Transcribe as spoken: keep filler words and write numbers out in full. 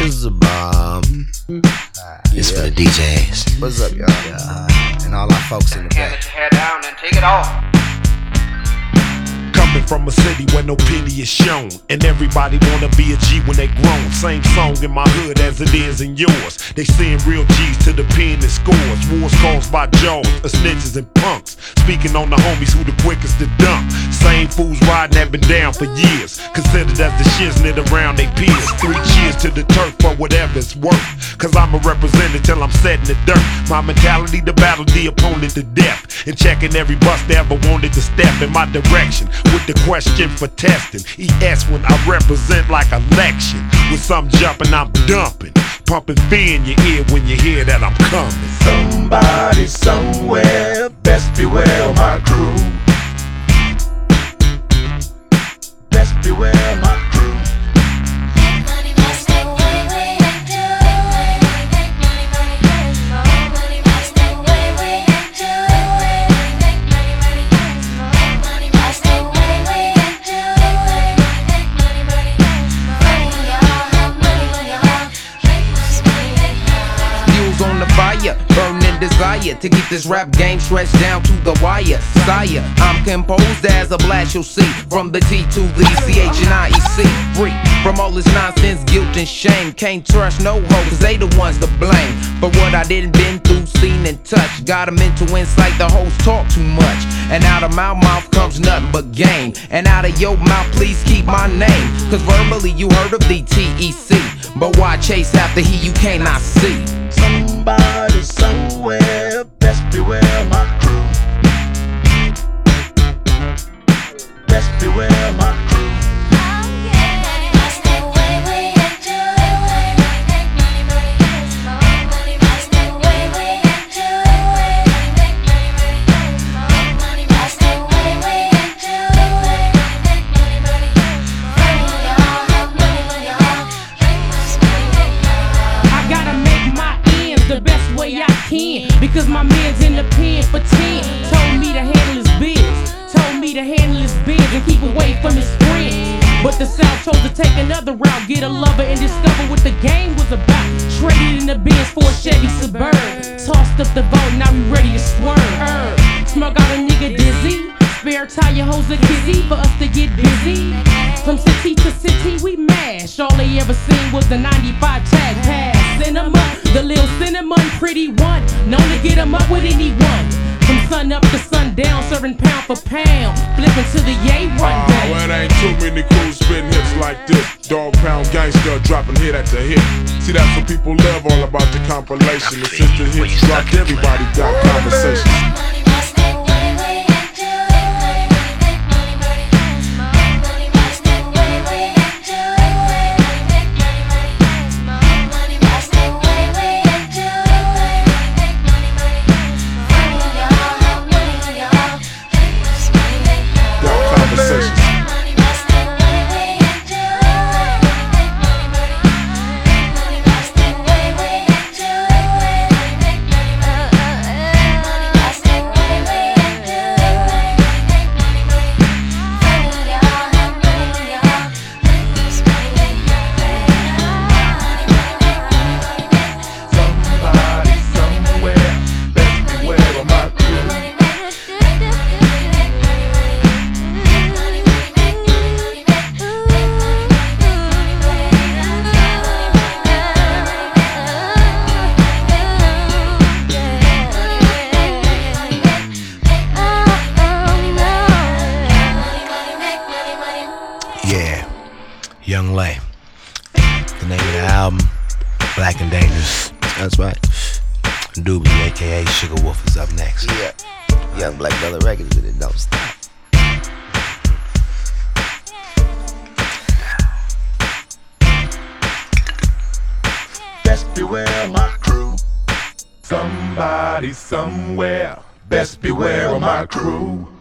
This is a bomb. It's yeah. for the D Js. What's up, y'all? Yeah. And all our folks in the Can't back. let your hair down and take it off. Coming from a city where no pity is shown, and everybody wanna be a G when they grown. Same song in my hood as it is in yours. They send real G's to the pen and scores. Wars caused by jaws, of snitches and punks. Speaking on the homies who the quickest to dump. Same fools riding have been down for years. Considered as the shiznit around they peers. Three cheers to the turf for whatever it's worth. Cause I'm a representative till I'm set in the dirt. My mentality to battle the opponent to death. And checking every bus that ever wanted to step in my direction. With the question for testing, E S when I represent like election. With some jumping, I'm dumping. Pumping fear in your ear when you hear that I'm coming. Somebody somewhere, best beware my crew. Best beware my crew. Burning desire to keep this rap game stretched down to the wire. Sire, I'm composed as a blast you'll see. From the T to the C H and I E C. Free from all this nonsense, guilt and shame. Can't trust no hoe, cause they the ones to blame. For what I didn't been through, seen and touched. Got them into insight, the hoes talk too much. And out of my mouth comes nothing but game. And out of your mouth, please keep my name. Cause verbally you heard of the T E C. But why chase after he you cannot see? Somebody somewhere, best beware my crew. Best beware my crew. Because my man's in the pen for ten. Told me to handle his biz. Told me to handle his biz and keep away from his friends. But the South chose to take another route. Get a lover and discover what the game was about. Traded in the Benz for a Chevy Suburban. Tossed up the vote, now we ready to swerve. Smug out a nigga dizzy. Spare tire hoes a kizzy for us to get busy. From city to city we mash. All they ever seen was the ninety-five tag pass. Cinema, the little cinnamon pretty one. Known to get 'em up with anyone. From sun up to sundown, serving pound for pound. Flipping to the yay rundown. Oh, well, it ain't too many crews spitting hits like this. Dog pound gangster dropping hit after hit. See, that's what people love, all about the compilation. And since the hits dropped, everybody got conversations. Young Lay. The name of the album, Black and Dangerous. That's right. Doobie, aka Sugar Wolf, is up next. Yeah. Young Black Brother Records with it, don't stop. Best beware my crew. Somebody somewhere, best beware of my crew.